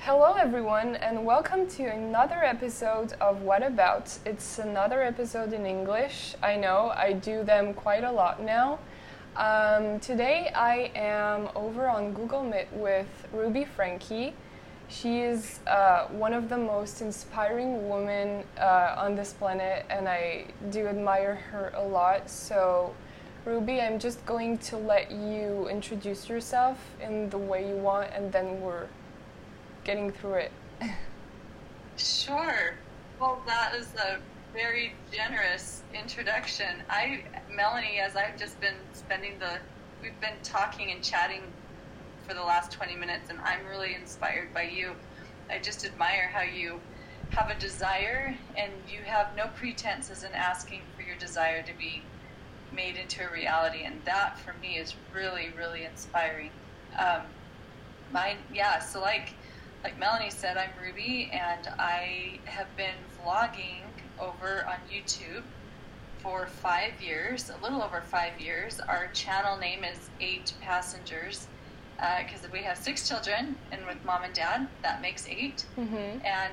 Hello, everyone, and welcome to another episode of What About? It's another episode in English. I know, I do them quite a lot now. Today I am over on Google Meet with Ruby Franke. She is one of the most inspiring women on this planet, and I do admire her a lot. So, Ruby, I'm just going to let you introduce yourself in the way you want, and then we're getting through it. Sure. Well, that is a very generous introduction. Melanie, as I've just been we've been talking and chatting for the last 20 minutes, and I'm really inspired by you. I just admire how you have a desire, and you have no pretenses in asking for your desire to be made into a reality, and that for me is really, really inspiring. So like Melanie said, I'm Ruby, and I have been vlogging over on YouTube for 5 years, a little over 5 years. Our channel name is 8 Passengers, because we have 6 children, and with mom and dad, that makes 8. Mm-hmm. And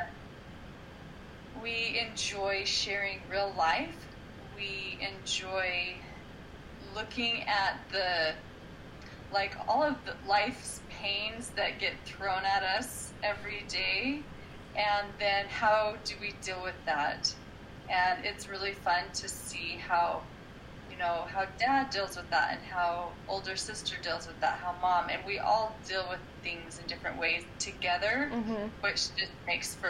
we enjoy sharing real life. We enjoy looking at all of the life's pains that get thrown at us every day, and then how do we deal with that? And it's really fun to see how dad deals with that, and how older sister deals with that, how mom, and we all deal with things in different ways together, Mm-hmm. which just makes for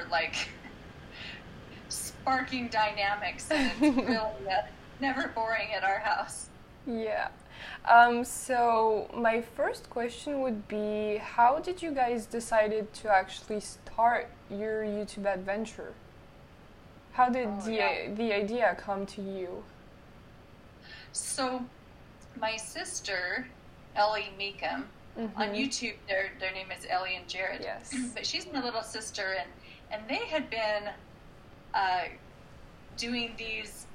sparking dynamics, and it's really never boring at our house. Yeah. So my first question would be, how did you guys decided to actually start your YouTube adventure? How did the idea come to you? So my sister, Ellie Meekum, on YouTube, their name is Ellie and Jared. Yes. But she's my little sister, and they had been doing these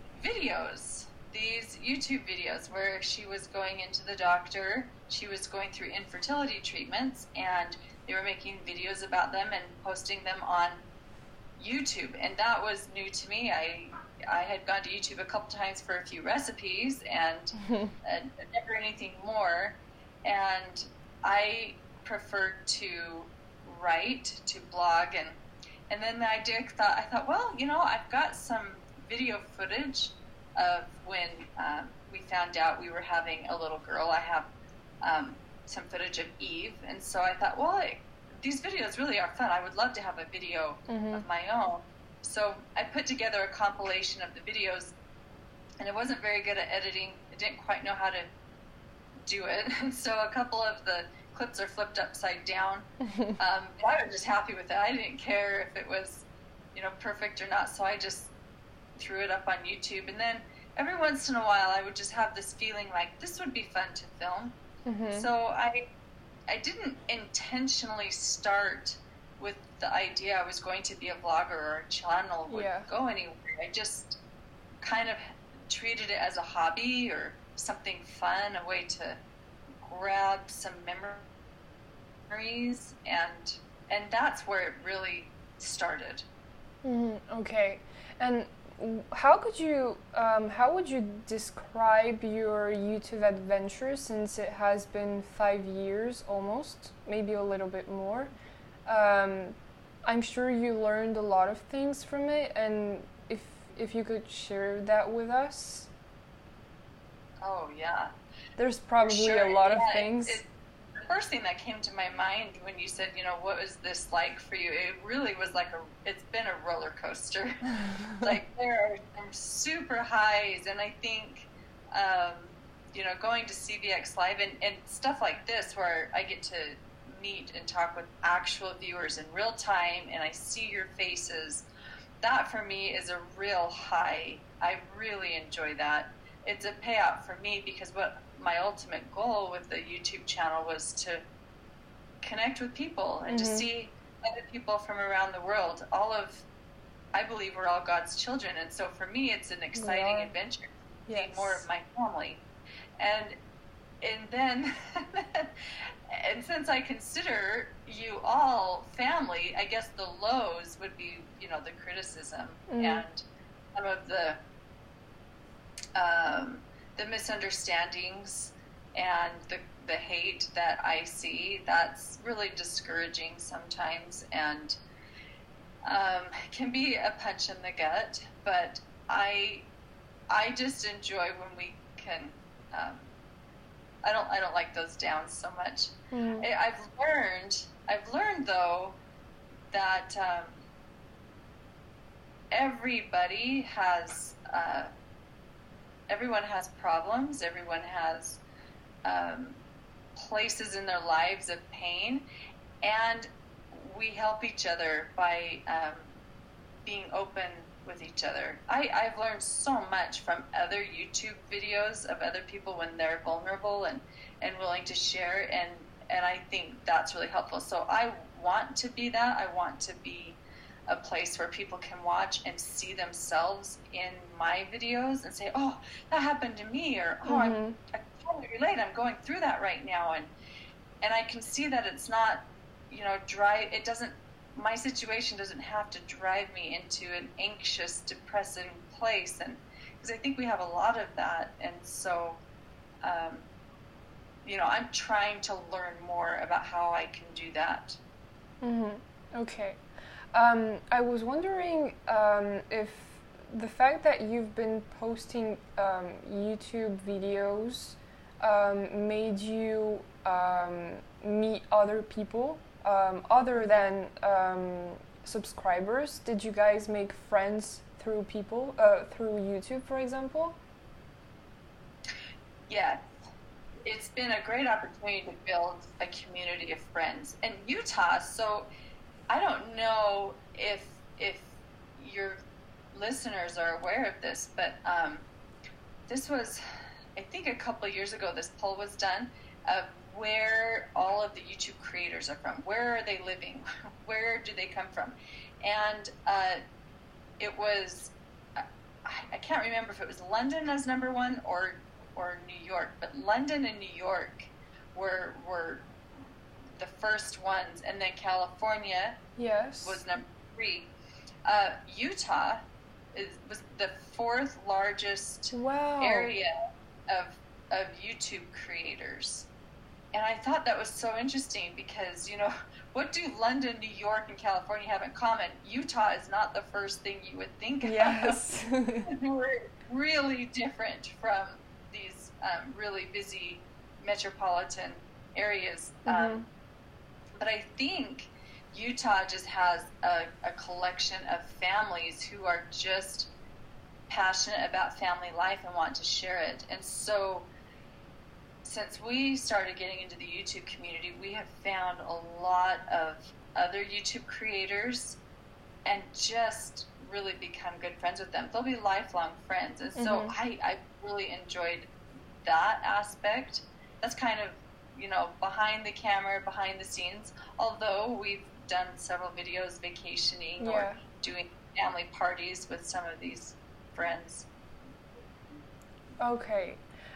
YouTube videos where she was going into the doctor, she was going through infertility treatments, and they were making videos about them and posting them on YouTube. And that was new to me. I had gone to YouTube a couple times for a few recipes and never anything more. And I preferred to write, to blog, and then I thought, well, I've got some video footage of when we found out we were having a little girl. I have some footage of Eve, and so I thought, well, these videos really are fun. I would love to have a video of my own. So I put together a compilation of the videos, and I wasn't very good at editing. I didn't quite know how to do it, and so a couple of the clips are flipped upside down. But I was just happy with it. I didn't care if it was, perfect or not, so I just threw it up on YouTube. And then every once in a while I would just have this feeling like this would be fun to film. So I didn't intentionally start with the idea I was going to be a vlogger or a channel would go anywhere. I just kind of treated it as a hobby or something fun, a way to grab some memories, and that's where it really started. Okay. And how would you describe your YouTube adventure, since it has been 5 years almost, maybe a little bit more? I'm sure you learned a lot of things from it, and if you could share that with us. Oh yeah. There's probably a lot of things. The first thing that came to my mind when you said, what was this like for you? It really was it's been a roller coaster. There are some super highs, and I think, going to CVX Live and stuff like this, where I get to meet and talk with actual viewers in real time, and I see your faces, that for me is a real high. I really enjoy that. It's a payout for me, because what my ultimate goal with the YouTube channel was to connect with people and to see other people from around the world. I believe we're all God's children, and so for me it's an exciting adventure to see more of my family. And and then, and since I consider you all family, I guess the lows would be, the criticism and some of the misunderstandings and the hate that I see. That's really discouraging sometimes, and can be a punch in the gut. But I just enjoy when we can. I don't like those downs so much. I've learned though that everybody has. Everyone has problems. Everyone has places in their lives of pain, and we help each other by being open with each other. I've learned so much from other YouTube videos of other people when they're vulnerable and willing to share, and I think that's really helpful. So I want to be that. I want to be a place where people can watch and see themselves in my videos and say, oh, that happened to me, or oh, I totally relate, I'm going through that right now, and I can see that it's not, my situation doesn't have to drive me into an anxious, depressing place, and because I think we have a lot of that, and so I'm trying to learn more about how I can do that. Okay. I was wondering if the fact that you've been posting YouTube videos made you meet other people other than subscribers. Did you guys make friends through through YouTube, for example? Yeah. It's been a great opportunity to build a community of friends. And Utah, so I don't know if your listeners are aware of this, but this was, I think a couple of years ago, this poll was done of where all of the YouTube creators are from. Where are they living? Where do they come from? And it was, I can't remember if it was London as number one or New York, but London and New York were the first ones, and then California was number 3. Utah was the 4th largest area of YouTube creators. And I thought that was so interesting because, what do London, New York, and California have in common? Utah is not the first thing you would think Yes. of. We're really different from these really busy metropolitan areas. But I think Utah just has a collection of families who are just passionate about family life and want to share it. And so since we started getting into the YouTube community, we have found a lot of other YouTube creators and just really become good friends with them. They'll be lifelong friends. And so I really enjoyed that aspect. That's kind of, behind the camera, behind the scenes, although we've done several videos vacationing or doing family parties with some of these friends. Okay.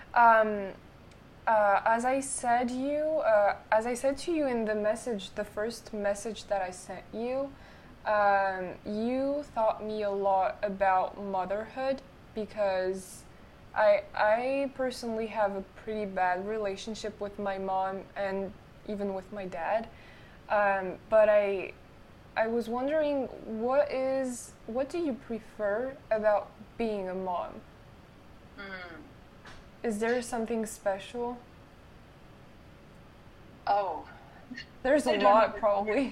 As I said to you in the first message that I sent you, you taught me a lot about motherhood because I personally have a pretty bad relationship with my mom and even with my dad. But I was wondering, what do you prefer about being a mom? Is there something special? Oh. There's a lot, probably.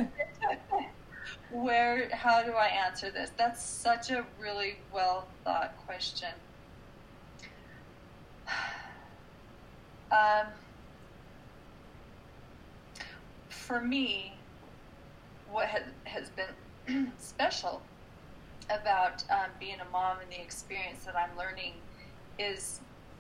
How do I answer this? That's such a really well thought question. For me, what has been special about being a mom and the experience that I'm learning is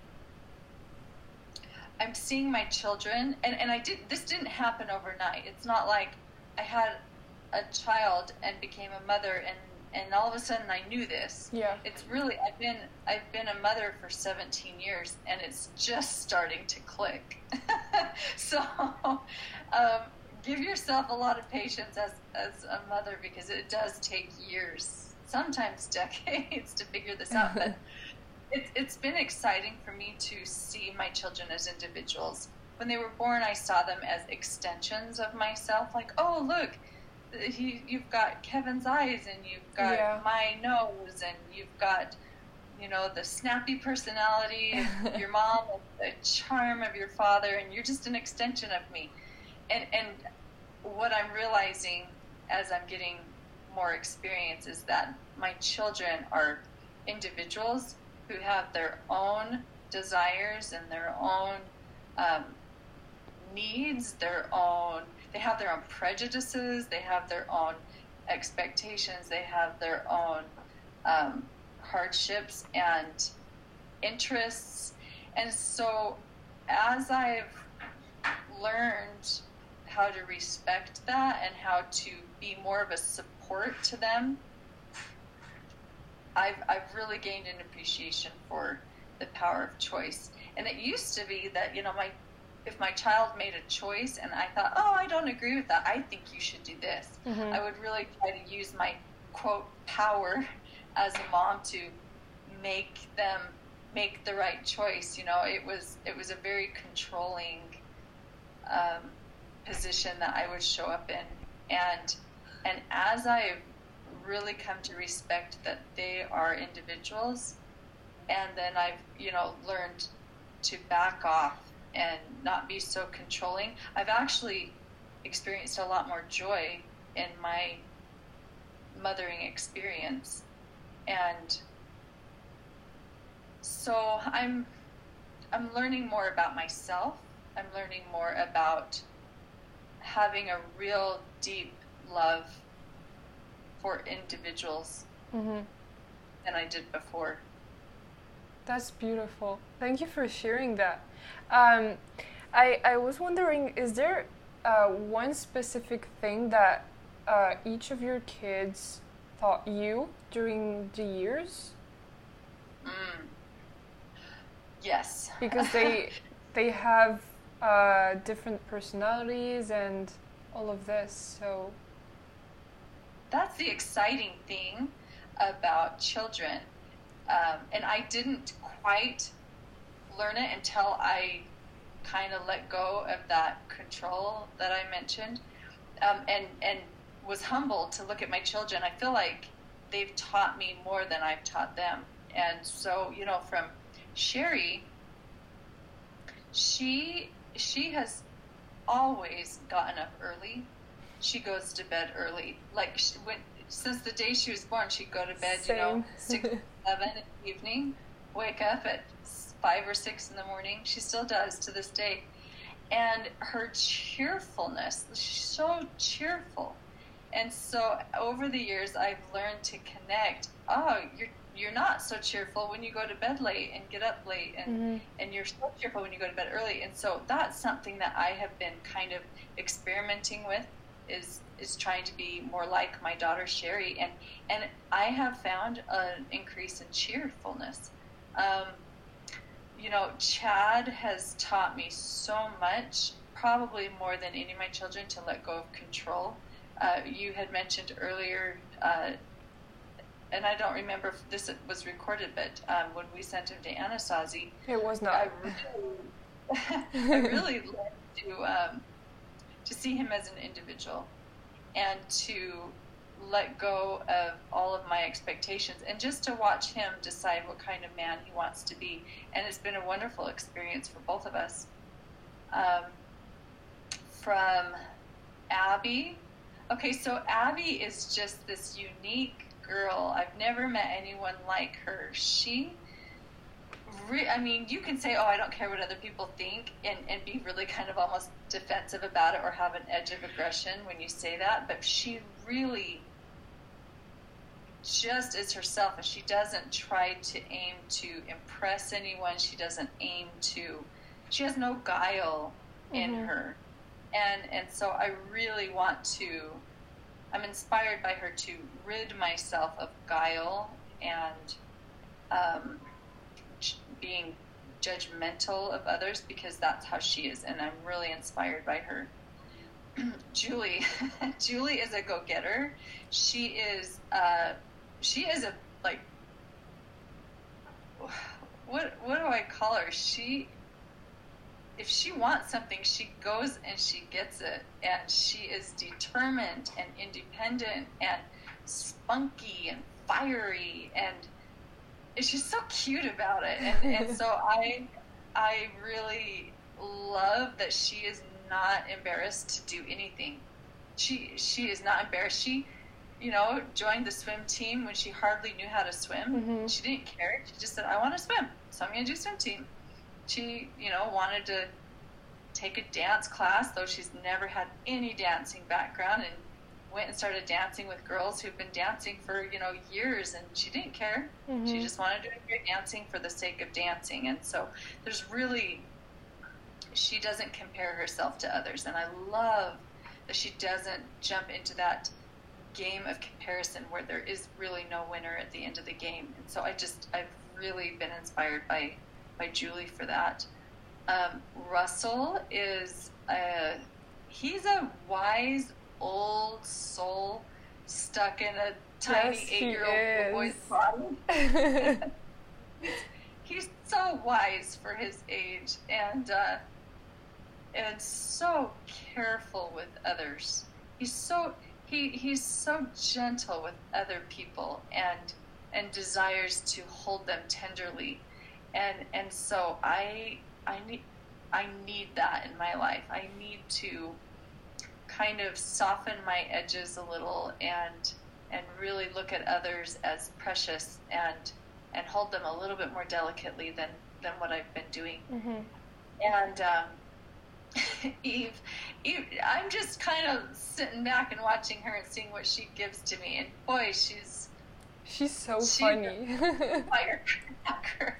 I'm seeing my children, and this didn't happen overnight. It's not like I had a child and became a mother and and all of a sudden I knew this. Yeah. It's really, I've been a mother for 17 years, and it's just starting to click. So give yourself a lot of patience as a mother, because it does take years, sometimes decades, to figure this out. But it's been exciting for me to see my children as individuals. When they were born, I saw them as extensions of myself. Like, oh, look, you've got Kevin's eyes, and you've got my nose, and you've got, the snappy personality of your mom, and the charm of your father, and you're just an extension of me. And what I'm realizing as I'm getting more experience is that my children are individuals who have their own desires and their own needs, they have their own prejudices, they have their own expectations, they have their own hardships and interests. And so as I've learned how to respect that and how to be more of a support to them, I've really gained an appreciation for the power of choice. And it used to be that, if my child made a choice and I thought, oh, I don't agree with that, I think you should do this, I would really try to use my, quote, power as a mom to make them make the right choice. It was a very controlling position that I would show up in. And as I've really come to respect that they are individuals, and then I've learned to back off and not be so controlling, I've actually experienced a lot more joy in my mothering experience. And so I'm learning more about myself. I'm learning more about having a real deep love for individuals than I did before. That's beautiful. Thank you for sharing that. I was wondering, is there one specific thing that each of your kids taught you during the years? Yes. Because they have different personalities and all of this, so... That's the exciting thing about children. And I didn't quite learn it until I kind of let go of that control that I mentioned, and was humbled to look at my children. I feel like they've taught me more than I've taught them. And so, from Sherry, she has always gotten up early. She goes to bed early. Like, since the day she was born, she'd go to bed, 6, 7 in the evening, wake up at 5 or 6 in the morning. She still does to this day. And her cheerfulness, she's so cheerful. And so over the years, I've learned to connect. Oh, you're not so cheerful when you go to bed late and get up late, and you're so cheerful when you go to bed early. And so that's something that I have been kind of experimenting with, is trying to be more like my daughter Sherry, and I have found an increase in cheerfulness. Chad has taught me so much, probably more than any of my children, to let go of control. You had mentioned earlier, and I don't remember if this was recorded, but when we sent him to Anasazi, it was not. I really learned to see him as an individual, and to let go of all of my expectations, and just to watch him decide what kind of man he wants to be. And it's been a wonderful experience for both of us. From Abby. Okay, so Abby is just this unique girl. I've never met anyone like her. You can say, oh, I don't care what other people think, and be really kind of almost defensive about it, or have an edge of aggression when you say that, but she really just is herself, and she doesn't try to aim to impress anyone. She has no guile in her. And so I really want to I'm inspired by her to rid myself of guile and being judgmental of others, because that's how she is, and I'm really inspired by her. Julie is a go-getter. She is a like, what do I call her? If she wants something, she goes and she gets it, and she is determined and independent and spunky and fiery, and she's so cute about it. And so I really love that she is not embarrassed to do anything. She is not embarrassed. She, joined the swim team when she hardly knew how to swim. Mm-hmm. She didn't care. She just said, I want to swim, so I'm going to do swim team. She, wanted to take a dance class, though she's never had any dancing background, and went and started dancing with girls who've been dancing for, years, and she didn't care. Mm-hmm. She just wanted to do dancing for the sake of dancing. And so she doesn't compare herself to others, and I love that she doesn't jump into that game of comparison where there is really no winner at the end of the game. And so I've really been inspired by Julie for that. Russell is he's a wise old soul stuck in a tiny 8-year-old boy's body. He's so wise for his age, and so careful with others. He's so gentle with other people, and desires to hold them tenderly, and so I need that in my life. I need to kind of soften my edges a little, and really look at others as precious, and hold them a little bit more delicately than what I've been doing. Mm-hmm. And Eve, I'm just kind of sitting back and watching her and seeing what she gives to me, and boy, she's so funny. Firecracker.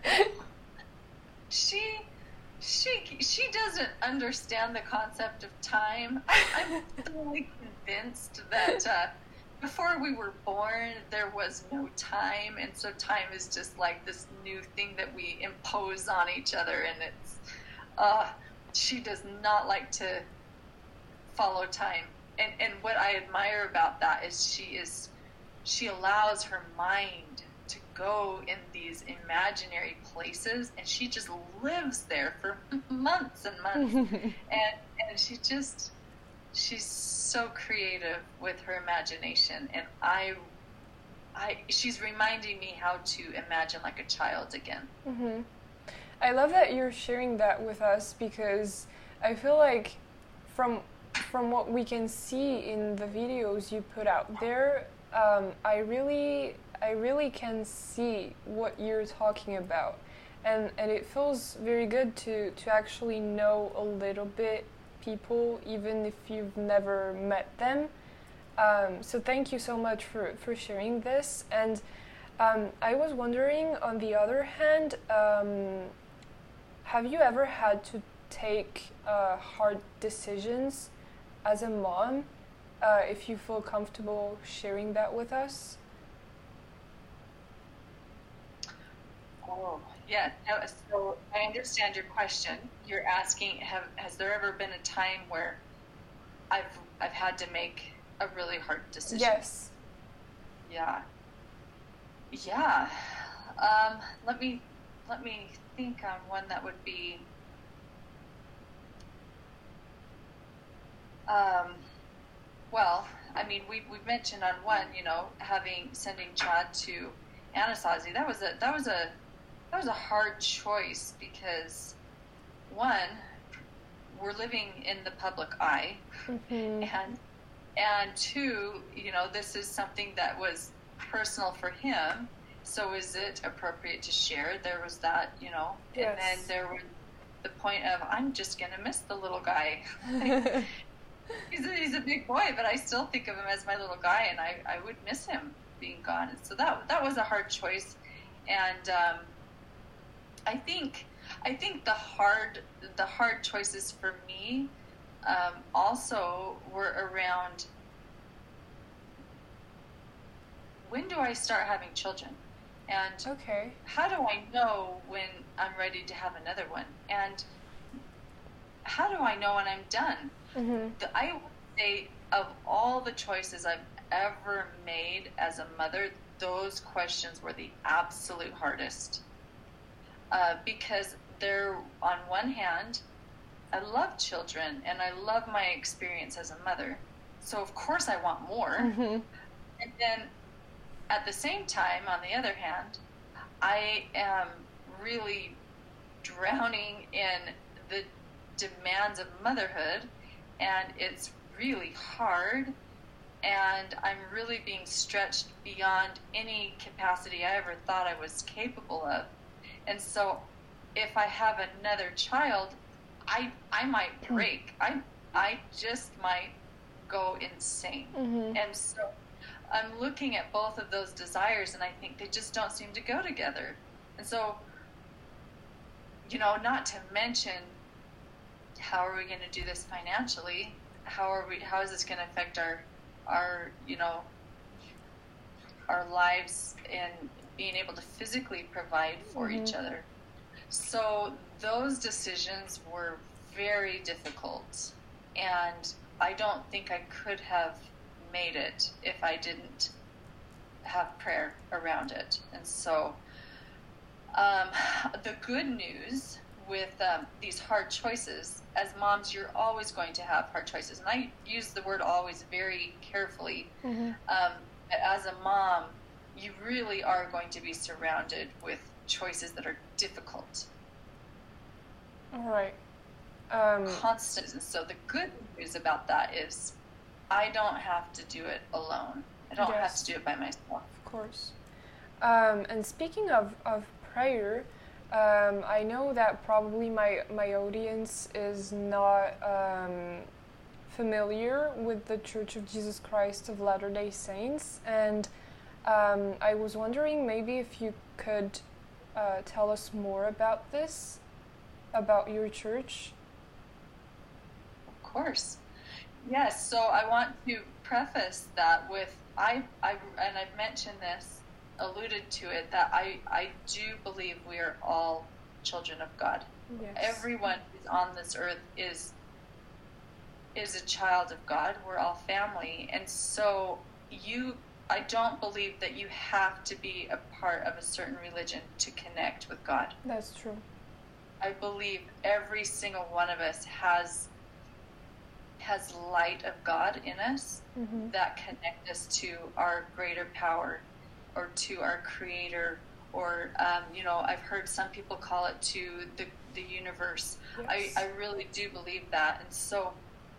She doesn't understand the concept of time. I'm fully convinced that before we were born, there was no time, and so time is just like this new thing that we impose on each other, and it's she does not like to follow time. And what I admire about that is she allows her mind to go in these imaginary places, and she just lives there for months and months. and she's so creative with her imagination, and she's reminding me how to imagine like a child again. Mm-hmm. I love that you're sharing that with us, because I feel like from what we can see in the videos you put out there, I really can see what you're talking about, and it feels very good to actually know a little bit people, even if you've never met them. So thank you so much for sharing this. And I was wondering, on the other hand, have you ever had to take hard decisions as a mom? If you feel comfortable sharing that with us. Oh, yeah. So I understand your question. You're asking, has there ever been a time where I've had to make a really hard decision? Yes. Yeah. Yeah. Let me think on one that would be. Well, I mean, we've mentioned on one, sending Chad to Anasazi. That was a hard choice, because one, we're living in the public eye, mm-hmm. and two, this is something that was personal for him. So is it appropriate to share? There was that, Yes. And then there was the point of, I'm just gonna miss the little guy. He's a big boy, but I still think of him as my little guy, and I would miss him being gone. And so that was a hard choice, and I think the hard choices for me also were around when do I start having children? And Okay. how do I know when I'm ready to have another one? And how do I know when I'm done? I would say of all the choices I've ever made as a mother, those questions were the absolute hardest. Because they're, on one hand, I love children and I love my experience as a mother. So of course I want more. And then at the same time, on the other hand, I am really drowning in the demands of motherhood, and it's really hard, and I'm really being stretched beyond any capacity I ever thought I was capable of. And so if I have another child, I might break. I just might go insane. And so I'm looking at both of those desires, and I think they just don't seem to go together. And so, not to mention, how are we going to do this financially? How is this going to affect our lives and being able to physically provide for each other? So those decisions were very difficult, and I don't think I could have made it if I didn't have prayer around it. And so the good news with these hard choices, as moms, you're always going to have hard choices. And I use the word always very carefully. As a mom, you really are going to be surrounded with choices that are difficult. All right. Constant. So the good news about that is I don't have to do it alone. I don't have to do it by myself. Of course. And speaking of prayer, I know that probably my audience is not familiar with the Church of Jesus Christ of Latter-day Saints, and I was wondering maybe if you could tell us more about this, about your church. Of course. Yes, so I want to preface that with, and I've mentioned this, alluded to it, that I do believe we are all children of God. Yes. Everyone who's on this earth is a child of God. We're all family. And so I don't believe that you have to be a part of a certain religion to connect with God. That's true. I believe every single one of us has light of God in us that connect us to our greater power, or to our Creator, or I've heard some people call it to the universe. Yes. I really do believe that, and so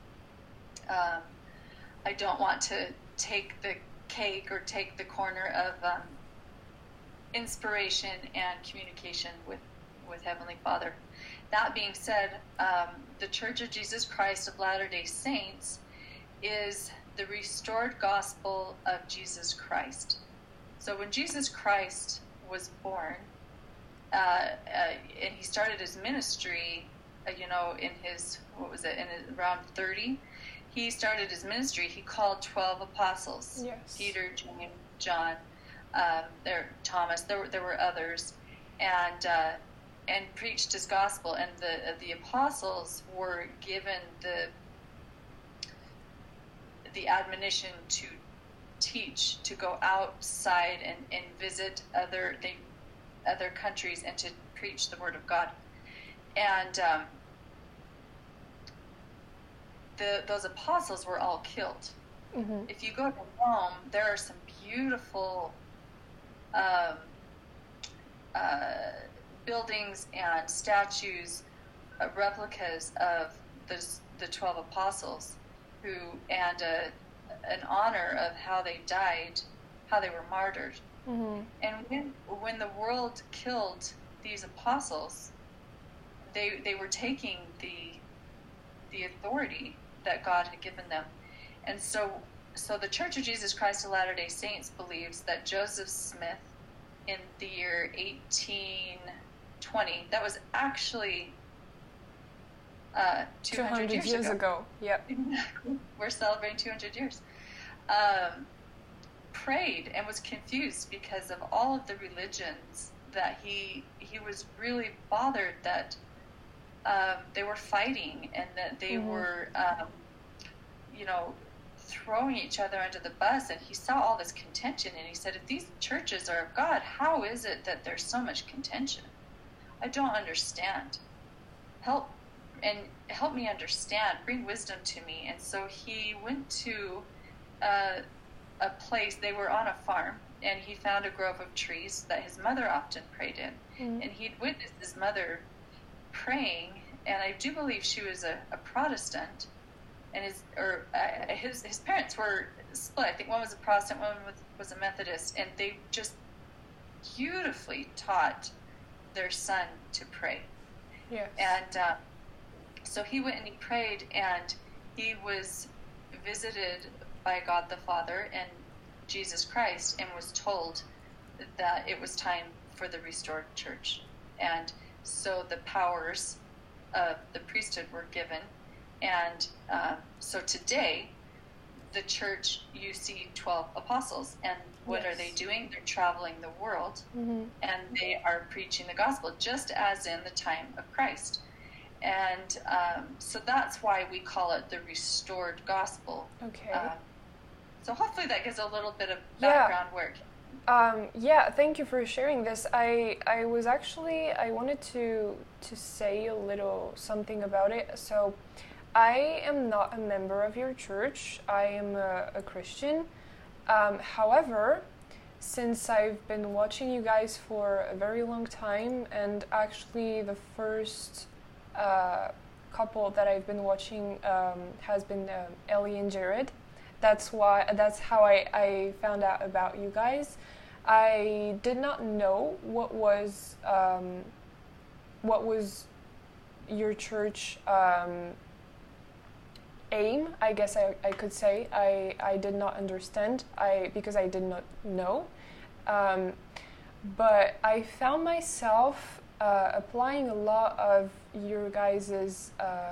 I don't want to take the cake or take the corner of inspiration and communication with Heavenly Father. That being said, the Church of Jesus Christ of Latter-day Saints is the restored gospel of Jesus Christ. So when Jesus Christ was born, and he started his ministry, in his, around 30, he started his ministry. He called 12 apostles. Yes. Peter, James, John, Thomas. There were others, and preached his gospel. And the apostles were given the admonition to teach, to go outside and visit other countries and to preach the word of God. And those apostles were all killed. If you go to Rome, there are some beautiful buildings and statues, replicas of the 12 apostles, and an honor of how they died, how they were martyred. And when the world killed these apostles, they were taking the authority that God had given them. And so the Church of Jesus Christ of Latter-day Saints believes that Joseph Smith, in the year 1820, that was actually 200 years ago. Yep. We're celebrating 200 years. prayed and was confused because of all of the religions that he was really bothered that they were fighting and that they were, throwing each other under the bus. And he saw all this contention, and he said, if these churches are of God, how is it that there's so much contention? I don't understand. Help me understand. Bring wisdom to me. And so he went to a place. They were on a farm, and he found a grove of trees that his mother often prayed in. And he'd witnessed his mother praying, and I do believe she was a Protestant, and his parents were split. I think one was a Protestant, one was a Methodist, and they just beautifully taught their son to pray. Yes. And so he went and he prayed, and he was visited by God the Father and Jesus Christ, and was told that it was time for the restored church. And so the powers of the priesthood were given. And so today, the church, you see 12 apostles. And what are they doing? They're traveling the world, and they are preaching the gospel, just as in the time of Christ. And so that's why we call it the restored gospel. Okay. So hopefully that gives a little bit of background work. Thank you for sharing this. I wanted to say a little something about it. So I am not a member of your church. I am a Christian. However, since I've been watching you guys for a very long time, and actually the first couple that I've been watching has been Ellie and Jared. That's how I found out about you guys. I did not know what was your church aim, I guess I could say. I did not understand because I did not know. But I found myself applying a lot of your guys'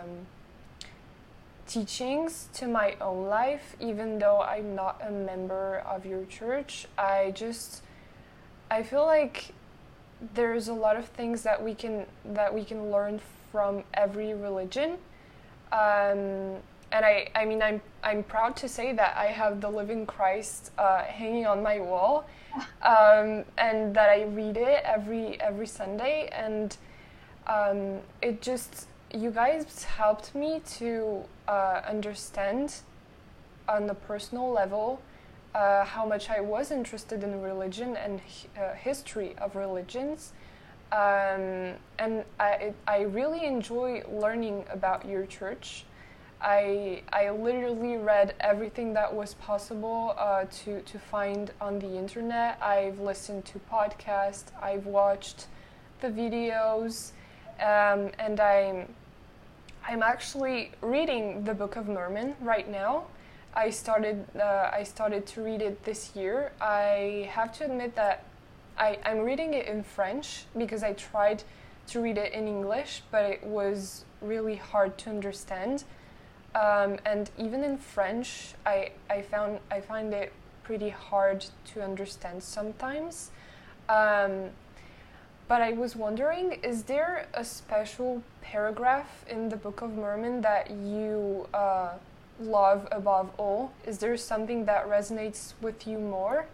teachings to my own life, even though I'm not a member of your church. I feel like there's a lot of things that we can learn from every religion. And I'm proud to say that I have the Living Christ hanging on my wall, and that I read it every Sunday, and you guys helped me to understand on the personal level how much I was interested in religion and history of religions, and I really enjoy learning about your church. I literally read everything that was possible to find on the internet. I've listened to podcasts, I've watched the videos, and I'm actually reading the Book of Mormon right now. I started to read it this year. I have to admit that I'm reading it in French because I tried to read it in English, but it was really hard to understand. And even in French, I find it pretty hard to understand sometimes. But I was wondering, is there a special paragraph in the Book of Mormon that you love above all? Is there something that resonates with you more?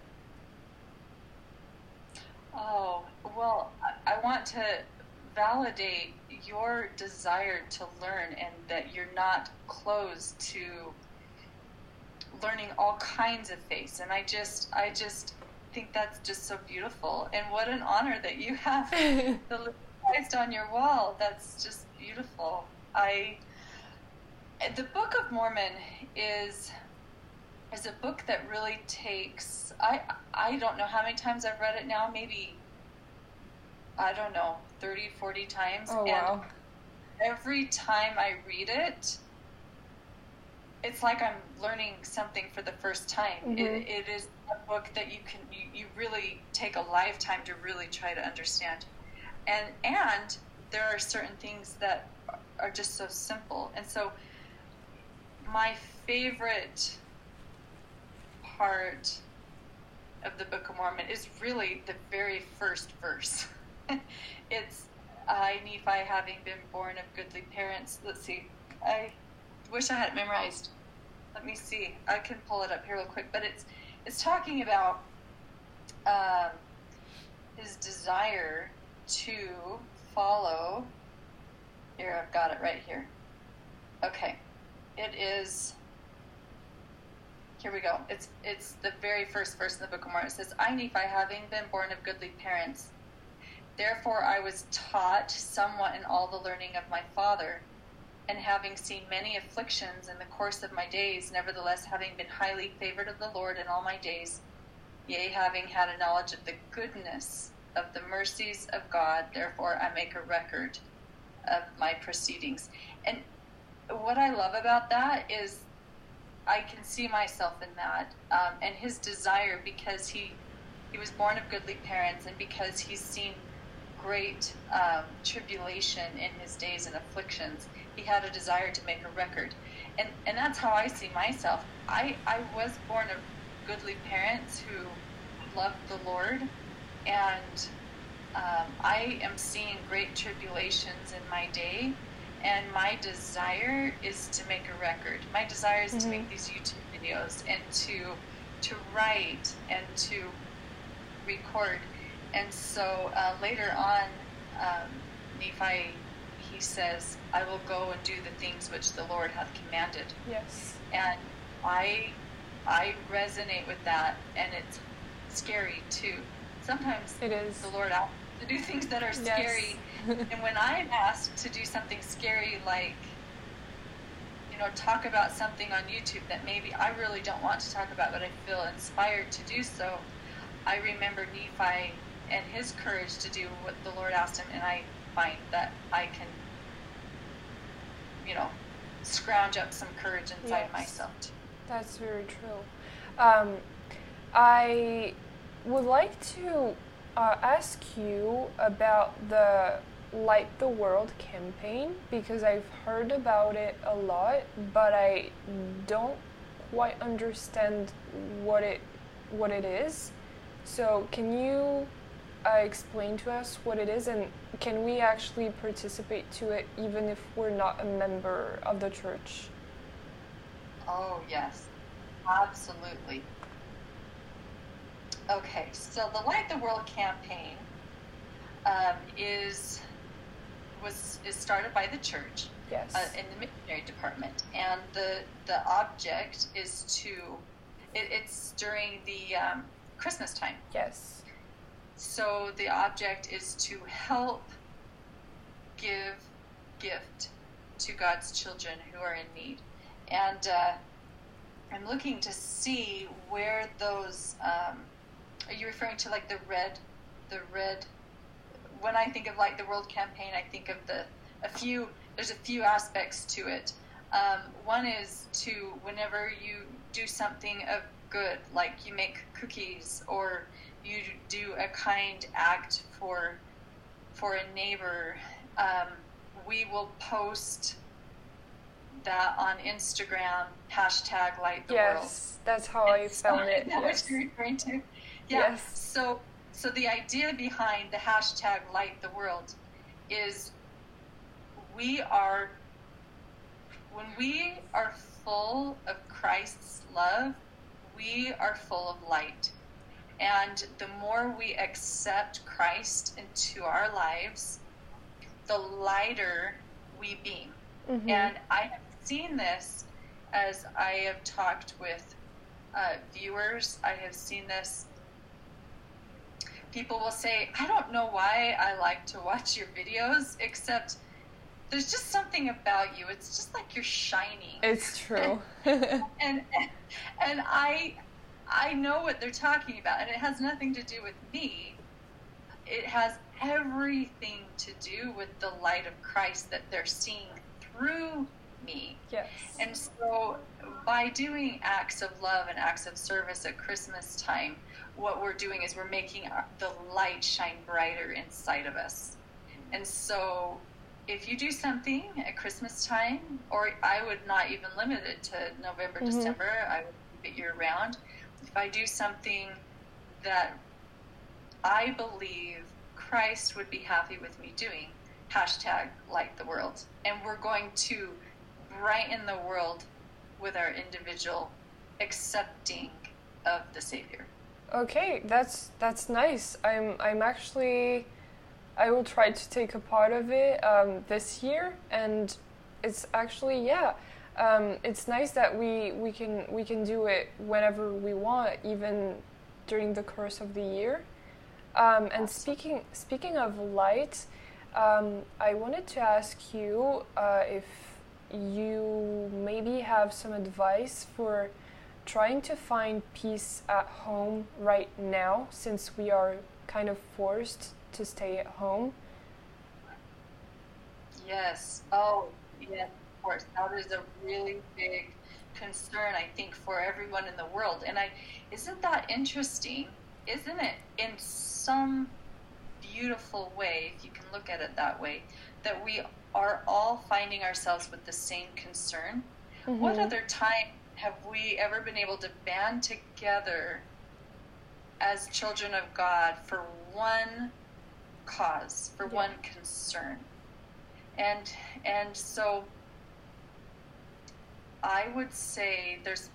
Oh, well, I want to validate your desire to learn, and that you're not closed to learning all kinds of faiths. And I just think that's just so beautiful. And what an honor that you have the Living Christ on your wall. That's just beautiful. The Book of Mormon is a book that really takes, I don't know how many times I've read it now, maybe, I don't know, 30, 40 times. Oh, wow. And every time I read it, it's like I'm learning something for the first time. Mm-hmm. It is a book that you really take a lifetime to really try to understand. And there are certain things that are just so simple. And so my favorite part of the Book of Mormon is really the very first verse. It's, I, Nephi, having been born of goodly parents. Let's see. I wish I had it memorized. Let me see. I can pull it up here real quick. But it's talking about his desire to follow. Here, I've got it right here. Okay. It is... Here we go. It's the very first verse in the Book of Mormon. It says, I, Nephi, having been born of goodly parents, therefore I was taught somewhat in all the learning of my father, and having seen many afflictions in the course of my days, nevertheless having been highly favored of the Lord in all my days, yea, having had a knowledge of the goodness of the mercies of God, therefore I make a record of my proceedings. And what I love about that is I can see myself in that, and his desire, because he was born of goodly parents, and because he's seen great tribulation in his days and afflictions, he had a desire to make a record. And that's how I see myself. I was born of goodly parents who loved the Lord, and I am seeing great tribulations in my day, and my desire is to make a record. My desire is to make these YouTube videos and to write and to record. And so later on, Nephi, he says, I will go and do the things which the Lord hath commanded. Yes. And I resonate with that, and it's scary too. Sometimes it is. The Lord asks to do things that are scary. Yes. And when I'm asked to do something scary, like, talk about something on YouTube that maybe I really don't want to talk about, but I feel inspired to do so, I remember Nephi and his courage to do what the Lord asked him, and I find that I can, scrounge up some courage inside myself too. That's very true. I would like to ask you about the Light the World campaign, because I've heard about it a lot, but I don't quite understand what it is. So can you explain to us what it is, and can we actually participate to it even if we're not a member of the church? Oh, yes, absolutely. Okay, so the Light the World campaign is started by the church. Yes. In the missionary department, and the object is to it's during the Christmas time. Yes. So the object is to help give gift to God's children who are in need, and I'm looking to see where those. Are you referring to like the red? When I think of Light the World campaign, I think of there's a few aspects to it. One is to, whenever you do something of good, like you make cookies or you do a kind act for a neighbor, we will post that on Instagram, hashtag Light the World. Yes, that's how I found it. Is that what you're referring to? Yeah. Yes. So the idea behind the hashtag Light the World is when we are full of Christ's love, we are full of light. And the more we accept Christ into our lives, the lighter we beam. Mm-hmm. And I have seen this as I have talked with viewers. I have seen this. People will say, I don't know why I like to watch your videos, except there's just something about you. It's just like you're shining. It's true. and I know what they're talking about, and it has nothing to do with me. It has everything to do with the light of Christ that they're seeing through me. Yes. And so by doing acts of love and acts of service at Christmas time, what we're doing is we're making the light shine brighter inside of us. And so if you do something at Christmas time, or I would not even limit it to November, December, I would keep it year round. If I do something that I believe Christ would be happy with me doing. Hashtag light the world. And we're going to brighten the world with our individual accepting of the Savior. Okay, that's nice. I'm actually, I will try to take a part of it this year, and it's actually, yeah, it's nice that we can do it whenever we want, even during the course of the year. And speaking of light, I wanted to ask you if you maybe have some advice for trying to find peace at home right now, since we are kind of forced to stay at home. Yes. Oh, yes, of course. That is a really big concern, I think, for everyone in the world. And isn't that interesting? Isn't it, in some beautiful way, if you can look at it that way, that we are all finding ourselves with the same concern? Mm-hmm. What other time have we ever been able to band together as children of God for one cause, for one concern? And so I would say there's,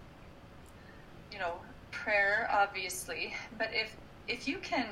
prayer, obviously, but if you can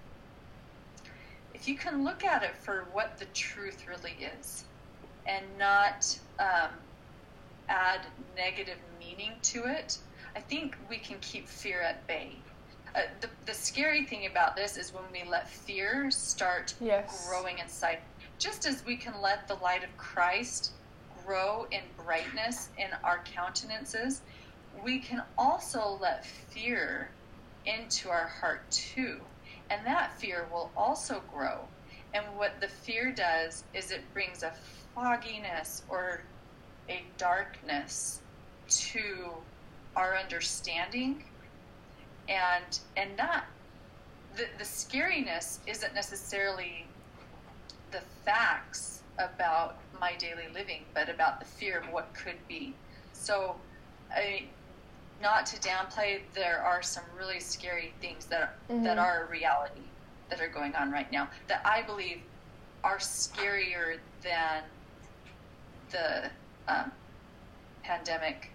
look at it for what the truth really is, and not add negative meaning to it, I think we can keep fear at bay. The scary thing about this is when we let fear start growing inside. Just as we can let the light of Christ grow in brightness in our countenances, we can also let fear into our heart too. And that fear will also grow. And what the fear does is it brings a fogginess or a darkness to our understanding. And not the scariness isn't necessarily the facts about my daily living, but about the fear of what could be. So, not to downplay, there are some really scary things that are a reality that are going on right now that I believe are scarier than the pandemic.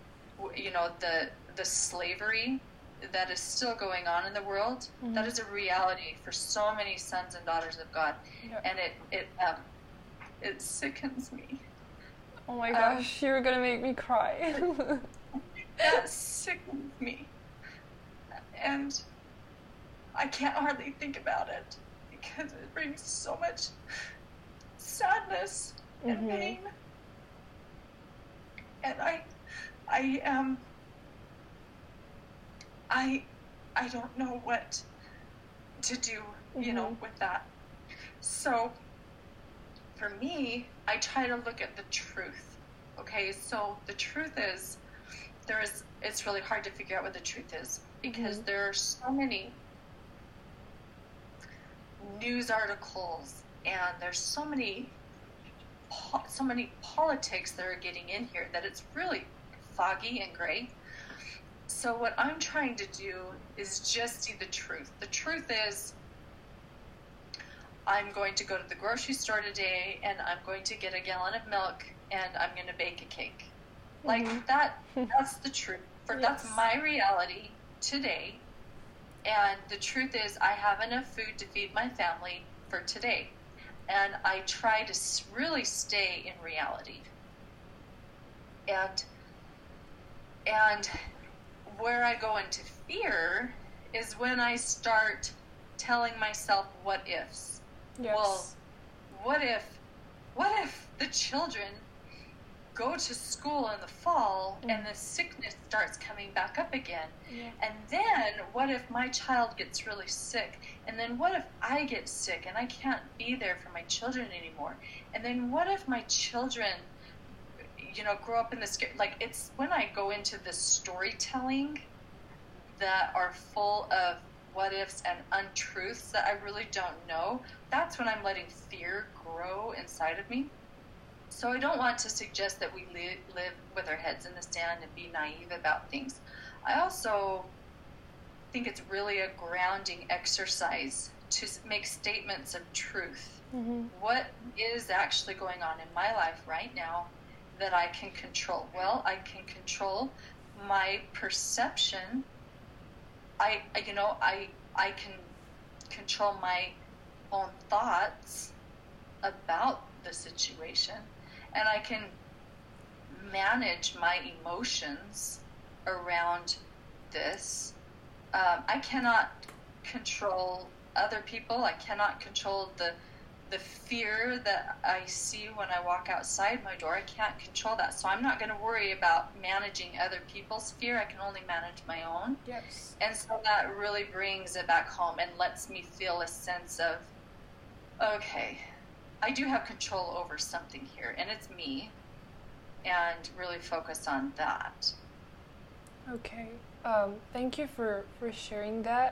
The slavery that is still going on in the world. Mm-hmm. That is a reality for so many sons and daughters of God, and it sickens me. Oh my gosh, you're gonna make me cry. That sickens me, and I can't hardly think about it because it brings so much sadness and pain, and I don't know what to do, with that. So for me, I try to look at the truth. Okay, so the truth is, it's really hard to figure out what the truth is because there are so many news articles and there's so many politics that are getting in here that it's really foggy and gray. So what I'm trying to do is just see the truth. The truth is, I'm going to go to the grocery store today and I'm going to get a gallon of milk and I'm going to bake a cake. Like that's the truth. That's my reality today. And the truth is, I have enough food to feed my family for today. And I try to really stay in reality. And where I go into fear is when I start telling myself what ifs. Yes. Well, what if the children go to school in the fall and the sickness starts coming back up again? Yeah. And then what if my child gets really sick? And then what if I get sick and I can't be there for my children anymore? And then what if my children, grow up in this, it's when I go into the storytelling that are full of what ifs and untruths that I really don't know, that's when I'm letting fear grow inside of me. So I don't want to suggest that we live with our heads in the sand and be naive about things. I also think it's really a grounding exercise to make statements of truth. Mm-hmm. What is actually going on in my life right now that I can control? Well, I can control my perception. I can control my own thoughts about the situation, and I can manage my emotions around this. I cannot control other people. I cannot control the fear that I see when I walk outside my door. I can't control that. So I'm not going to worry about managing other people's fear. I can only manage my own. Yes. And so that really brings it back home and lets me feel a sense of, okay, I do have control over something here, and it's me, and really focus on that. Okay. Thank you for sharing that.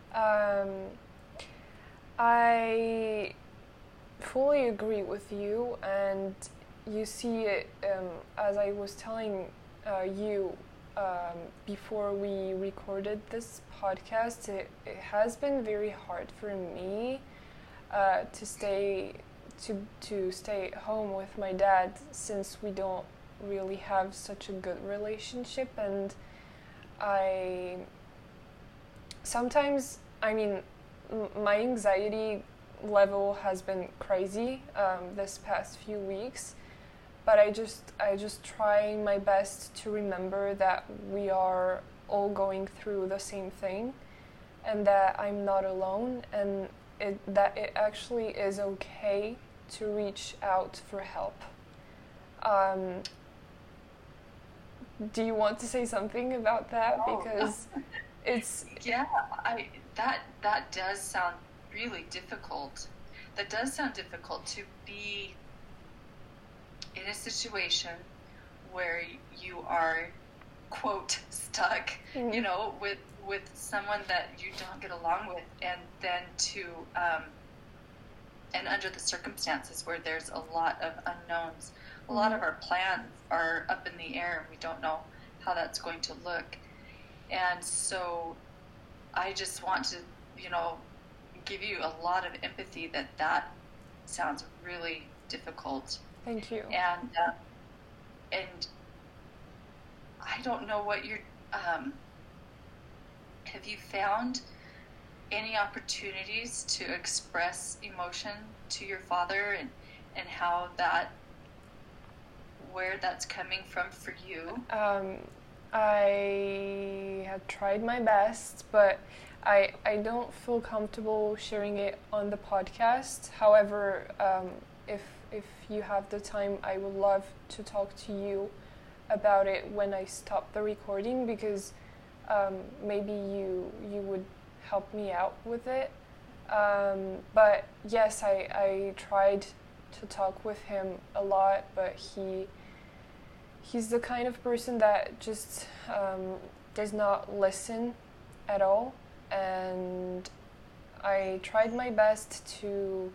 I fully agree with you, and you see it, as I was telling you before we recorded this podcast, it has been very hard for me to stay at home with my dad, since we don't really have such a good relationship. And I sometimes, my anxiety level has been crazy this past few weeks, but I just try my best to remember that we are all going through the same thing, and that I'm not alone, and that it actually is okay to reach out for help. Do you want to say something about that? Because it's... Yeah, that does sound really difficult. That does sound difficult, to be in a situation where you are, quote, stuck, Mm-hmm. with someone that you don't get along with, and then and under the circumstances where there's a lot of unknowns. A lot of our plans are up in the air, and we don't know how that's going to look. And so I just want to, give you a lot of empathy that sounds really difficult. Thank you. And I don't know what you're, have you found any opportunities to express emotion to your father, and how where that's coming from for you? I had tried my best, but I don't feel comfortable sharing it on the podcast. However, if you have the time, I would love to talk to you about it when I stop the recording, because maybe you would help me out with it. But yes, I tried to talk with him a lot, but he's the kind of person that just does not listen at all. And I tried my best to,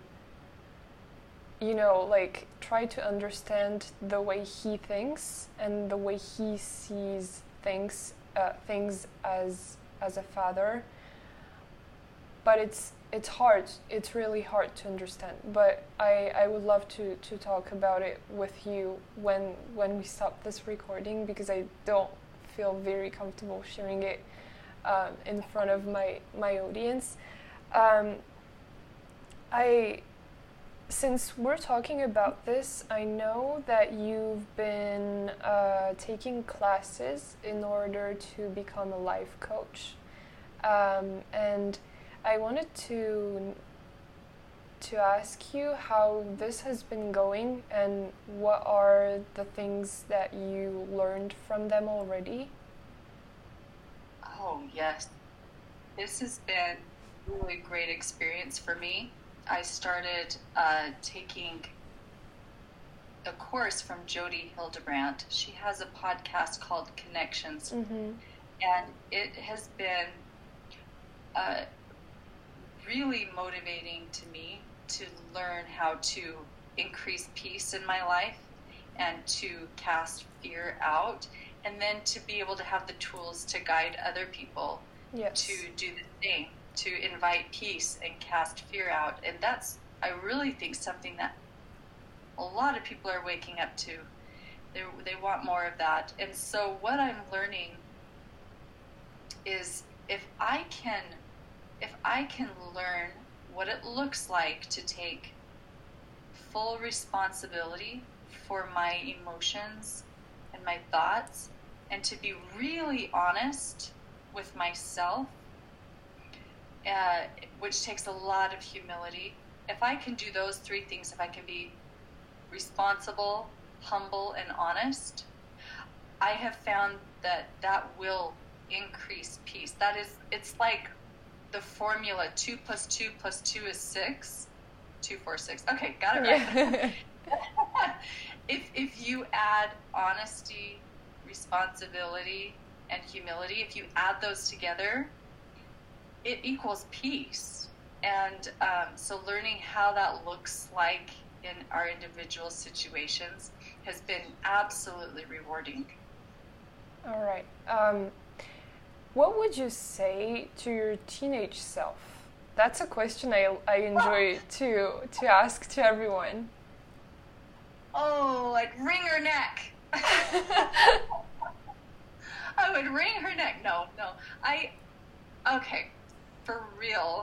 try to understand the way he thinks and the way he sees things as a father. But it's hard. It's really hard to understand. But I would love to talk about it with you when we stop this recording, because I don't feel very comfortable sharing it in front of my audience. Since we're talking about this, I know that you've been taking classes in order to become a life coach, and I wanted to ask you how this has been going, and what are the things that you learned from them already? Oh, yes. This has been a really great experience for me. I started taking a course from Jody Hildebrandt. She has a podcast called Connections, Mm-hmm. and it has been really motivating to me to learn how to increase peace in my life and to cast fear out, and then to be able to have the tools to guide other people to Yes. do the same, to invite peace and cast fear out. And that's, I really think, something that a lot of people are waking up to. They want more of that. And so what I'm learning is if I can learn what it looks like to take full responsibility for my emotions and my thoughts, and to be really honest with myself, which takes a lot of humility. If I can do those three things, if I can be responsible, humble, and honest, I have found that will increase peace. It's like the formula 2 + 2 + 2 is 6. 2, 4, 6. Okay, got it right. Yeah. If you add honesty, responsibility, and humility, if you add those together, it equals peace. And so learning how that looks like in our individual situations has been absolutely rewarding. All right. What would you say to your teenage self? That's a question I enjoy to ask to everyone. Oh, I'd wring her neck. I would wring her neck. No. Okay, for real.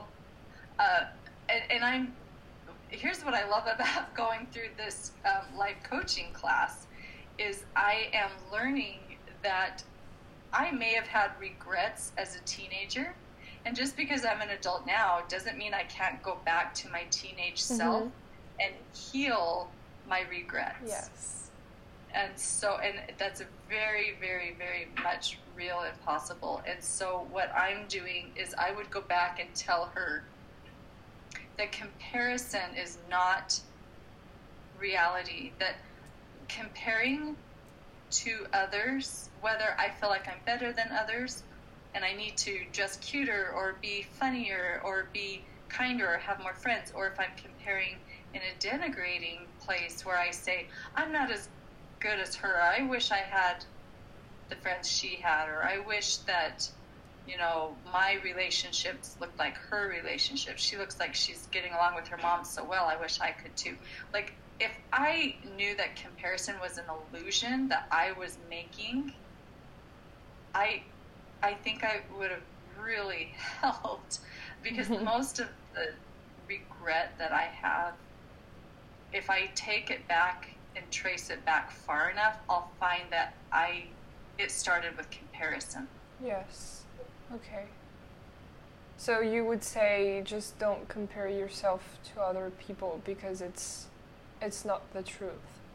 And here's what I love about going through this life coaching class is I am learning that I may have had regrets as a teenager, and just because I'm an adult now doesn't mean I can't go back to my teenage self and heal my regrets. Yes. And that's very, very, very much real and possible. And so what I'm doing is I would go back and tell her that comparison is not reality, that comparing to others, whether I feel like I'm better than others and I need to dress cuter or be funnier or be kinder or have more friends, or if I'm comparing in a denigrating place where I say, I'm not as good as her, I wish I had the friends she had, or I wish that, my relationships looked like her relationships. She looks like she's getting along with her mom so well, I wish I could too. Like, if I knew that comparison was an illusion that I was making, I think I would have really helped, because most of the regret that I have, if I take it back and trace it back far enough, I'll find that it started with comparison. Yes. Okay. So you would say just don't compare yourself to other people because it's not the truth.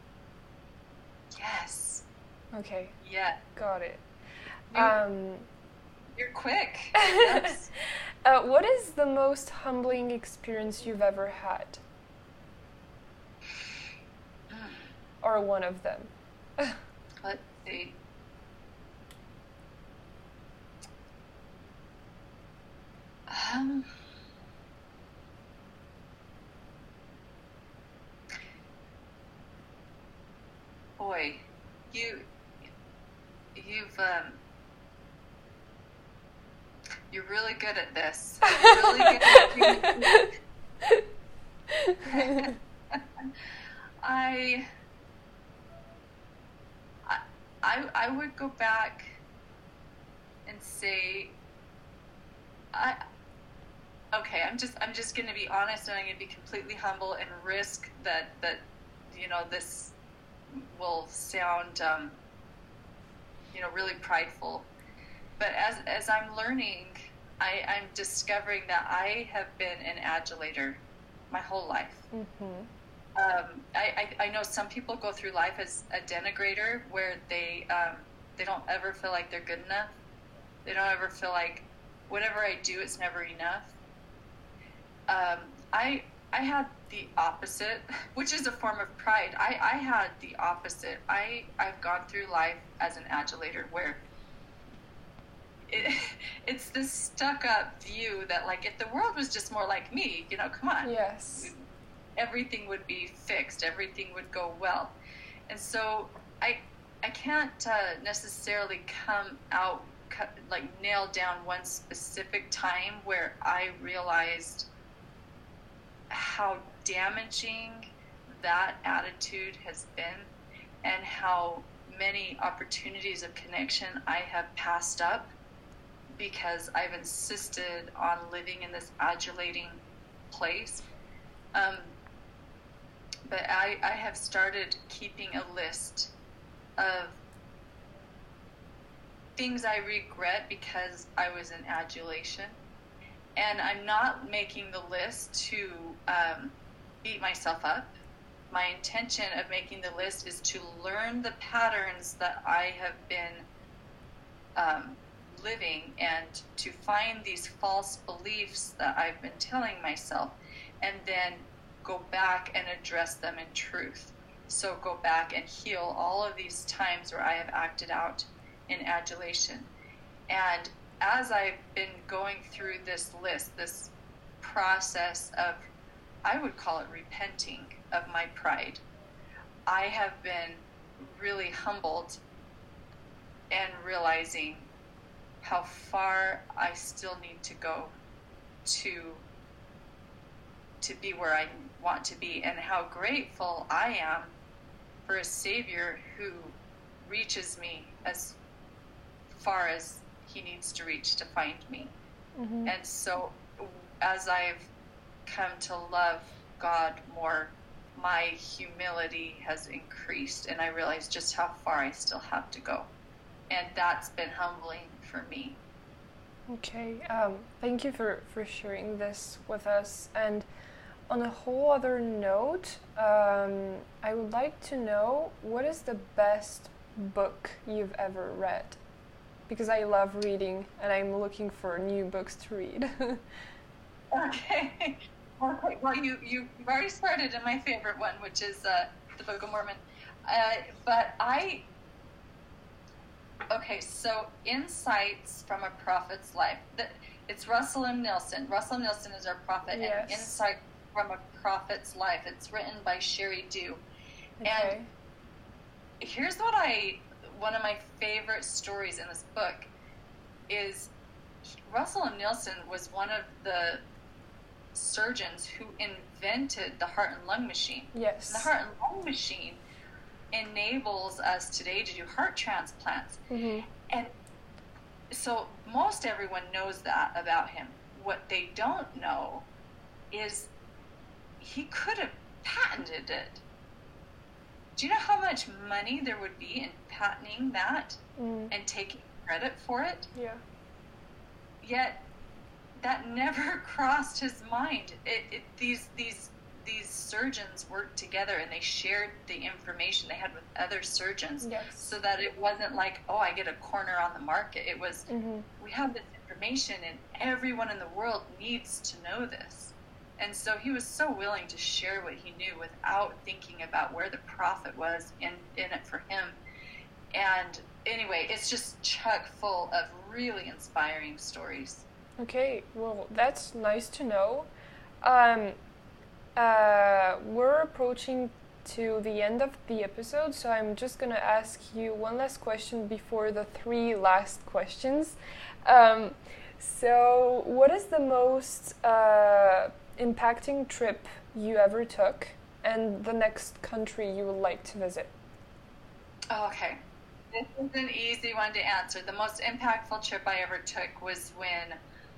Yes. Okay. Yeah. Got it. You're quick. Yes. What is the most humbling experience you've ever had? Or one of them? Let's see. Boy, you're really good at this. You're really good at I would go back and say, I'm just going to be honest, and I'm going to be completely humble and risk that this will sound really prideful. But as I'm learning, I'm discovering that I have been an adulator my whole life. I know some people go through life as a denigrator, where they don't ever feel like they're good enough. They don't ever feel like whatever I do, it's never enough. I had the opposite, which is a form of pride. I had the opposite. I've gone through life as an adulator, where it's this stuck-up view that, like, if the world was just more like me, come on. Yes. Everything would be fixed. Everything would go well. And so I can't necessarily come out like nail down one specific time where I realized how damaging that attitude has been, and how many opportunities of connection I have passed up because I've insisted on living in this adulating place. But I have started keeping a list of things I regret because I was in adulation. And I'm not making the list to beat myself up. My intention of making the list is to learn the patterns that I have been living, and to find these false beliefs that I've been telling myself, and then go back and address them in truth. So go back and heal all of these times where I have acted out in adulation. And as I've been going through this list, this process of, I would call it repenting of my pride, I have been really humbled and realizing how far I still need to go to be where I want to be, and how grateful I am for a Savior who reaches me as far as he needs to reach to find me. Mm-hmm. And so as I've come to love God more, my humility has increased, and I realize just how far I still have to go. And that's been humbling for me. Okay, thank you for sharing this with us. And on a whole other note, I would like to know, what is the best book you've ever read? Because I love reading, and I'm looking for new books to read. Okay. Well, you've already started in my favorite one, which is the Book of Mormon. Okay, so Insights from a Prophet's Life. It's Russell M. Nelson. Russell M. Nelson is our prophet, yes. And Insight from a Prophet's Life. It's written by Sherry Dew. Okay. And here's one of my favorite stories in this book is Russell M. Nelson was one of the surgeons who invented the heart and lung machine. Yes. And the heart and lung machine enables us today to do heart transplants. Mm-hmm. And so most everyone knows that about him. What they don't know is he could have patented it. Do you know how much money there would be in patenting that and taking credit for it? Yeah. Yet that never crossed his mind. These surgeons worked together, and they shared the information they had with other surgeons, yes. So that it wasn't like, oh, I get a corner on the market. It was, we have this information, and everyone in the world needs to know this. And so he was so willing to share what he knew without thinking about where the profit was in it for him. And anyway, it's just chock full of really inspiring stories. Okay, well, that's nice to know. We're approaching to the end of the episode, so I'm just going to ask you one last question before the 3 last questions. So what is the most impacting trip you ever took, and the next country you would like to visit? Okay. This is an easy one to answer. The most impactful trip I ever took was when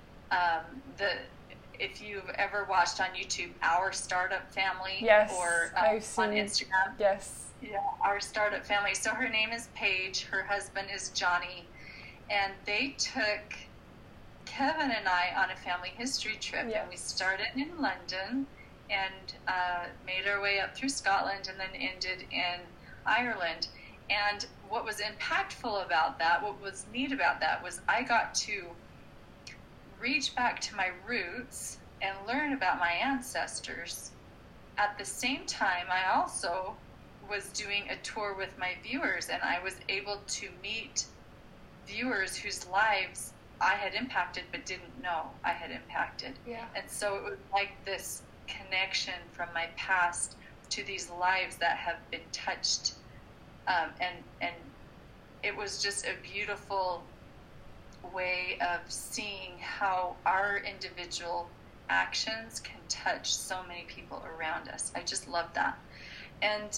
if you've ever watched on YouTube Our Startup Family, yes, or I've seen, on Instagram. Yes. Yeah, Our Startup Family. So her name is Paige, her husband is Johnny, and they took Kevin and I on a family history trip. Yes. And we started in London and made our way up through Scotland and then ended in Ireland. And what was impactful about that, what was neat about that, was I got to reach back to my roots and learn about my ancestors. At the same time, I also was doing a tour with my viewers, and I was able to meet viewers whose lives I had impacted but didn't know I had impacted. Yeah. And so it was like this connection from my past to these lives that have been touched. And it was just a beautiful way of seeing how our individual actions can touch so many people around us. I just love that. And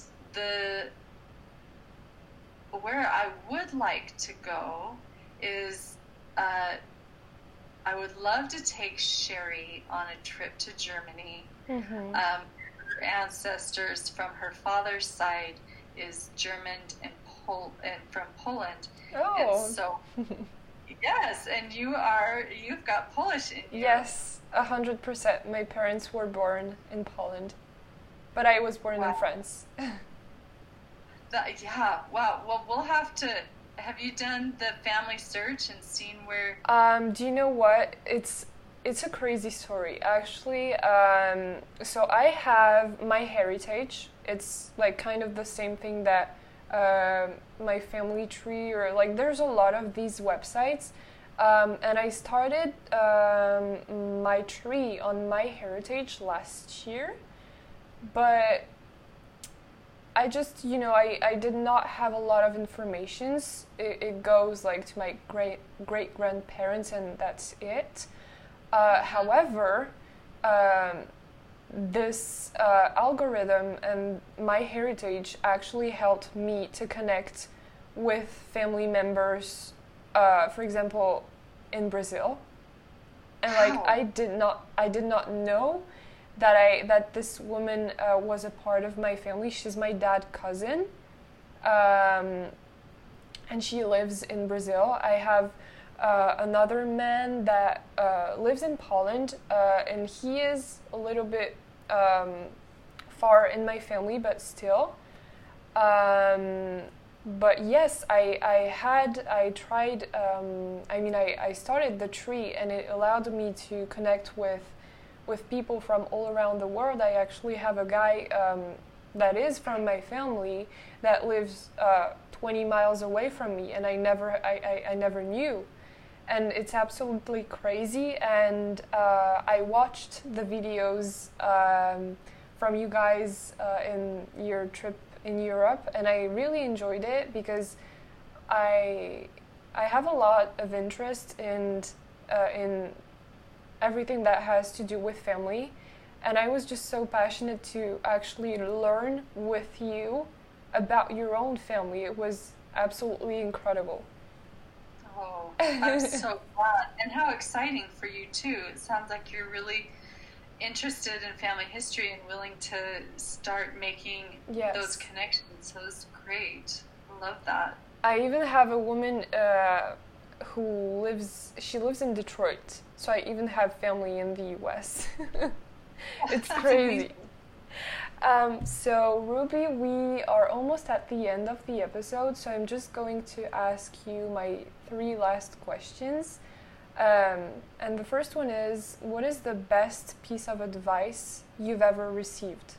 where I would like to go is I would love to take Sherry on a trip to Germany. Mm-hmm. Her ancestors from her father's side is German and from Poland. Oh. And so, yes, and you've got Polish in you. Yes, 100%. My parents were born in Poland, but I was born in France. Yeah, wow. Well, we'll have to. Have you done the family search and seen where? Do you know what? It's a crazy story, actually. So I have my heritage. It's like kind of the same thing that my family tree, or like there's a lot of these websites. And I started my tree on my heritage last year, but I just, I did not have a lot of information. It goes like to my great grandparents, and that's it. However, this algorithm and my heritage actually helped me to connect with family members, for example, in Brazil. And like I did not know that this woman was a part of my family. She's my dad's cousin, and she lives in Brazil. I have another man that lives in Poland, and he is a little bit far in my family, but still. But yes, I tried. I started the tree, and it allowed me to connect with people from all around the world. I actually have a guy that is from my family that lives 20 miles away from me, and I never knew. And it's absolutely crazy. And I watched the videos from you guys in your trip in Europe, and I really enjoyed it because I have a lot of interest in everything that has to do with family, and I was just so passionate to actually learn with you about your own family. It was absolutely incredible. Oh, I'm so glad. And how exciting for you too. It sounds like you're really interested in family history and willing to start making those connections. So it's great. I love that. I even have a woman who lives in Detroit. So I even have family in the US. It's crazy. So Ruby, we are almost at the end of the episode, so I'm just going to ask you my 3 last questions. And the first one is, what is the best piece of advice you've ever received?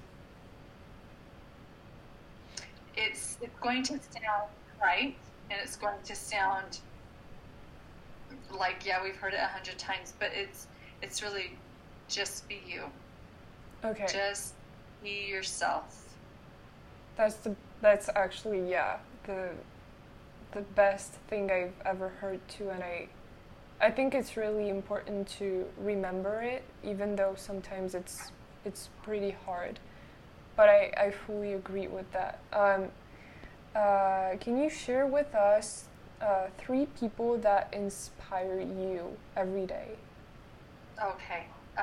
It's going to sound right, and it's going to sound like, we've heard it 100 times, but it's really just be you. Okay. Just be yourself. That's actually the best thing I've ever heard too, and I think it's really important to remember it, even though sometimes it's pretty hard. But I fully agree with that. Can you share with us 3 people that inspire you every day? Okay.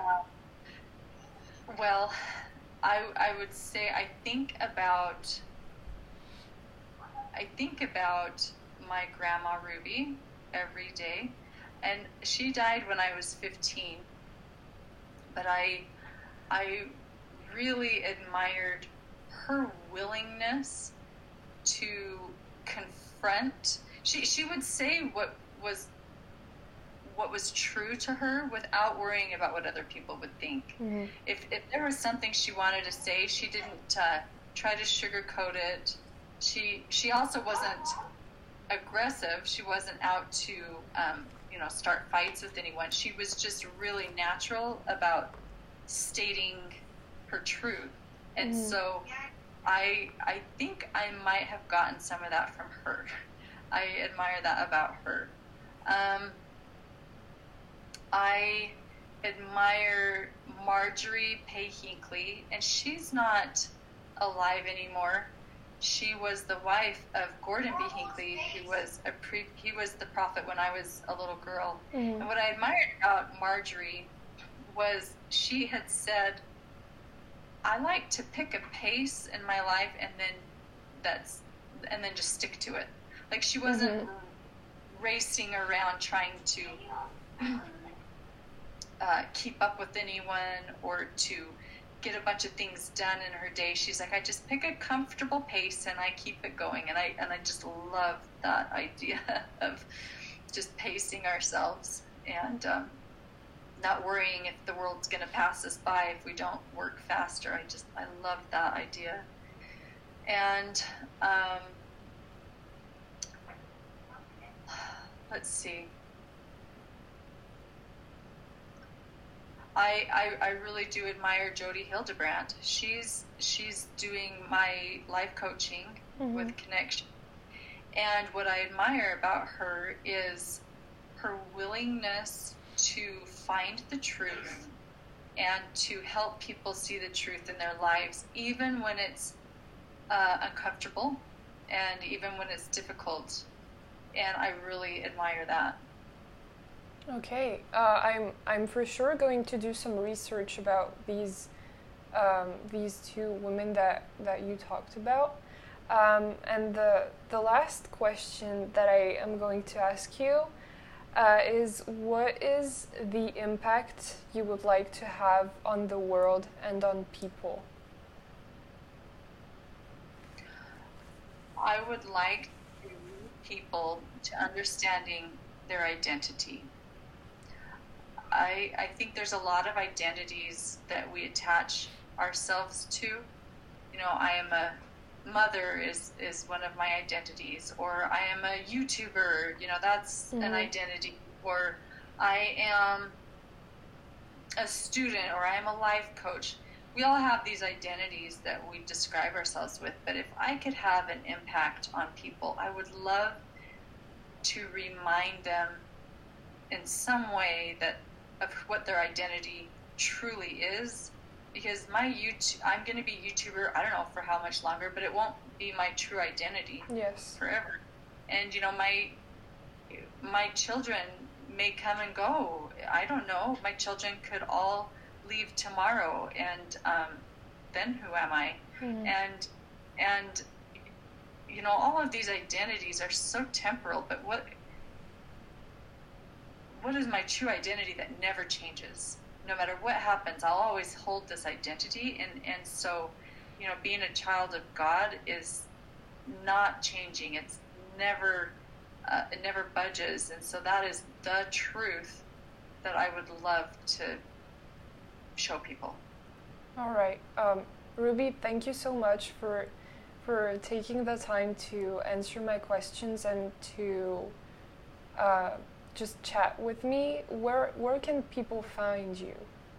Well, I would say I think about my grandma Ruby every day, and she died when I was 15. But I really admired her willingness to confront. She would say what was true to her without worrying about what other people would think. Mm-hmm. If there was something she wanted to say, she didn't try to sugarcoat it. She also wasn't aggressive. She wasn't out to start fights with anyone. She was just really natural about stating her truth. And mm-hmm. So I think I might have gotten some of that from her. I admire that about her. I admire Marjorie Pay Hinckley, and she's not alive anymore. She was the wife of Gordon B. Hinckley, who was he was the prophet when I was a little girl. Mm-hmm. And what I admired about Marjorie was she had said, I like to pick a pace in my life and then just stick to it. Like she wasn't racing around trying to keep up with anyone or to get a bunch of things done in her day. She's like, I just pick a comfortable pace and I keep it going. And I just love that idea of just pacing ourselves and not worrying if the world's going to pass us by if we don't work faster. I love that idea. And let's see. I really do admire Jody Hildebrandt. She's doing my life coaching with Connection. And what I admire about her is her willingness to find the truth and to help people see the truth in their lives, even when it's uncomfortable and even when it's difficult. And I really admire that. Okay, I'm for sure going to do some research about these two women that you talked about. And the last question that I am going to ask you is, what is the impact you would like to have on the world and on people? I would like people to understanding their identity. I think there's a lot of identities that we attach ourselves to. You know, I am a mother is one of my identities, or I am a YouTuber, you know, that's an identity, or I am a student, or I am a life coach. We all have these identities that we describe ourselves with, but if I could have an impact on people, I would love to remind them in some way that of what their identity truly is, because I'm going to be YouTuber, I don't know for how much longer, but it won't be my true identity forever. And you know, my children may come and go. I don't know. My children could all leave tomorrow, and then who am I? And you know, all of these identities are so temporal, but what is my true identity that never changes? No matter what happens, I'll always hold this identity. And so, you know, being a child of God is not changing. It's never, it never budges. And so that is the truth that I would love to show people. All right. Ruby, thank you so much for taking the time to answer my questions and to just chat with me. Where can people find you?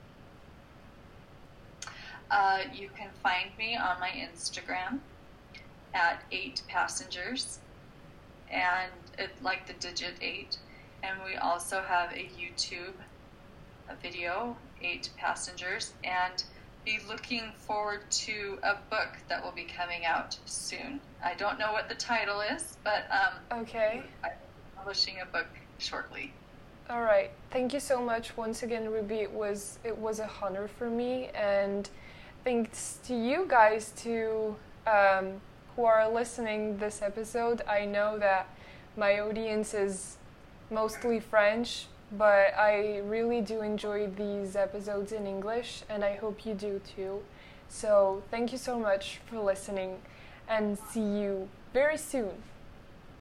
You can find me on my Instagram at 8 Passengers, and it's like the digit 8. And we also have a YouTube video, 8 Passengers, and be looking forward to a book that will be coming out soon. I don't know what the title is, but okay. I'm publishing a book shortly. All right. Thank you so much once again, Ruby. It was a honor for me, and thanks to you guys who are listening this episode. I know that my audience is mostly French, but I really do enjoy these episodes in English, and I hope you do too. So thank you so much for listening, and see you very soon.